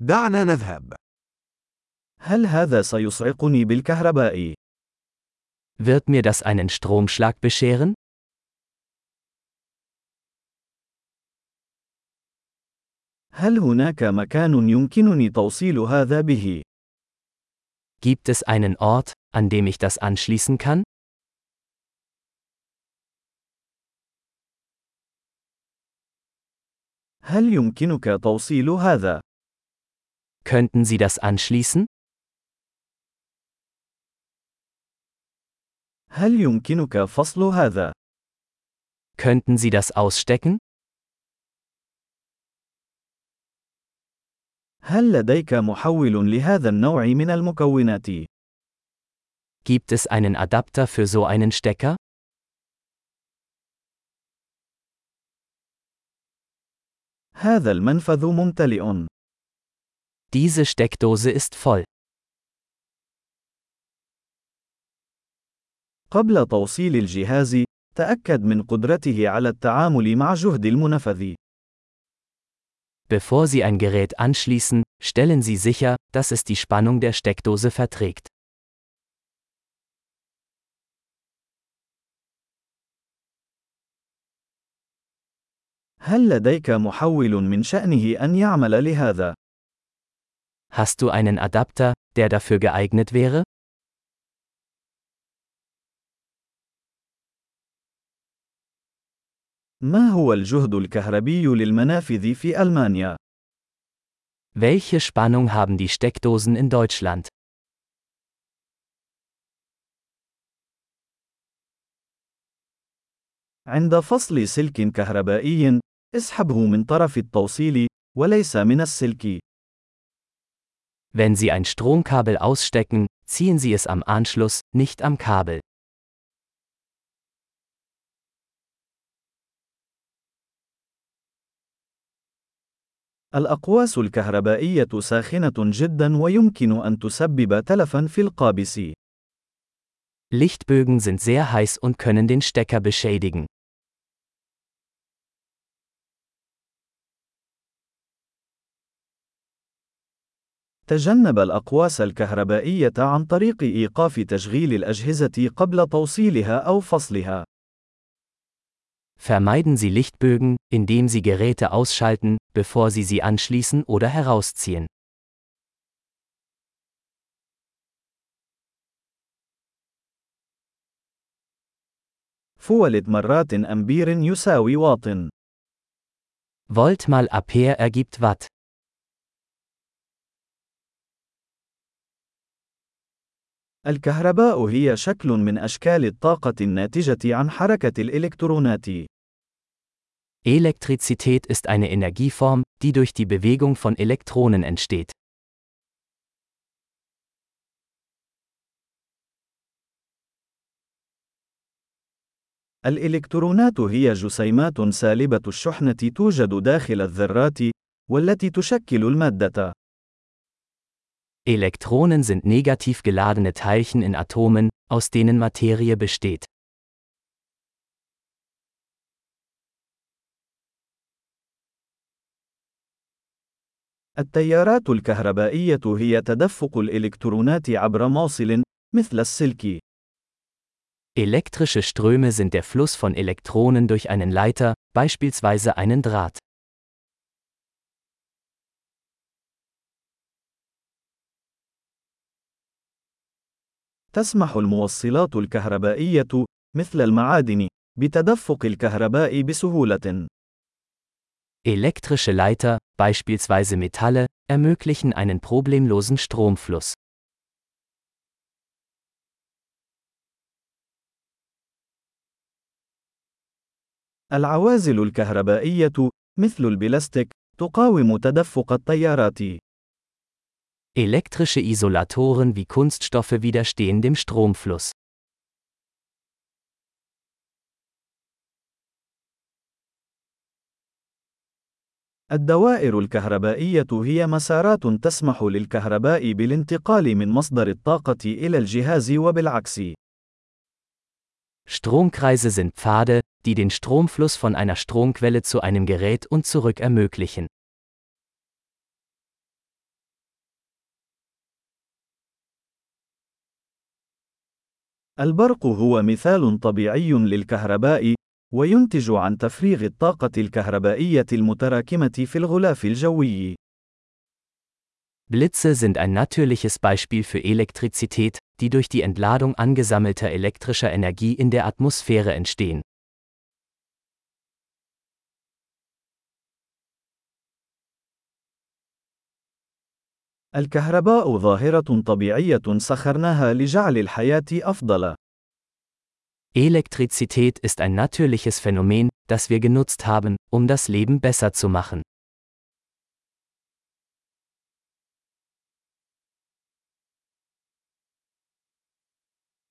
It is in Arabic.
دعنا نذهب. هل هذا سيصعقني بالكهرباء؟ Wird mir das einen Stromschlag bescheren? هل هناك مكان يمكنني توصيل هذا به؟ Gibt es einen Ort, an dem ich das anschließen kann? هل يمكنك توصيل هذا؟ Könnten Sie das anschließen? هل يمكنك فصل هذا؟ Könnten Sie das ausstecken? هل لديك محول لهذا النوع من المكونات؟ Gibt es einen Adapter für so einen Stecker? هذا المنفذ ممتلئ. Diese Steckdose ist voll. قبل توصيل الجهاز، تأكد من قدرته على التعامل مع جهد المنفذ. Bevor Sie ein Gerät anschließen, stellen Sie sicher, dass es die Spannung der Steckdose verträgt. هل لديك محول من شأنه أن يعمل لهذا؟ Hast du einen Adapter, der dafür geeignet wäre? ما هو الجهد الكهربي للمنافذ في ألمانيا؟ Welche Spannung haben die Steckdosen in Deutschland? عند فصل سلك كهربائي، اسحبه من طرف التوصيل وليس من السلك. Wenn Sie ein Stromkabel ausstecken, ziehen Sie es am Anschluss, nicht am Kabel. الأقواس الكهربائية ساخنة جدا ويمكن أن تسبب تلفا في القابس. Lichtbögen sind sehr heiß und können den Stecker beschädigen. تجنب الأقواس الكهربائية عن طريق إيقاف تشغيل الأجهزة قبل توصيلها أو فصلها. Vermeiden Sie Lichtbögen, indem Sie Geräte ausschalten, bevor Sie sie anschließen oder herausziehen. فولت مرات أمبير يساوي واط. Volt mal Ampere ergibt Watt. الكهرباء هي شكل من أشكال الطاقة الناتجة عن حركة الإلكترونات. Elektrizität ist eine Energieform, die durch die Bewegung von Elektronen entsteht. الإلكترونات هي جسيمات سالبة الشحنة توجد داخل الذرات، والتي تشكل المادة. Elektronen sind negativ geladene Teilchen in Atomen, aus denen Materie besteht. التيارات الكهربائية هي تدفق الإلكترونات عبر موصل، مثل السلك. Elektrische Ströme sind der Fluss von Elektronen durch einen Leiter, beispielsweise einen Draht. تسمح الموصلات الكهربائية، مثل المعادن، بتدفق الكهرباء بسهولة. Elektrische Leiter, beispielsweise Metalle, ermöglichen einen problemlosen Stromfluss. العوازل الكهربائية، مثل البلاستيك، تقاوم تدفق التيارات. Elektrische Isolatoren wie Kunststoffe widerstehen dem Stromfluss. الدوائر الكهربائية هي مسارات تسمح للكهرباء بالانتقال من مصدر الطاقة إلى الجهاز وبالعكس. Stromkreise sind Pfade, die den Stromfluss von einer Stromquelle zu einem Gerät und zurück ermöglichen. البرق هو مثال طبيعي للكهرباء، وينتج عن تفريغ الطاقة الكهربائية المتراكمة في الغلاف الجوي. Blitze sind ein natürliches Beispiel für Elektrizität, die durch die Entladung angesammelter elektrischer Energie in der Atmosphäre entstehen. الكهرباء ظاهرة طبيعية سخرناها لجعل الحياة أفضل. Elektrizität ist ein natürliches Phänomen, das wir genutzt haben, um das Leben besser zu machen.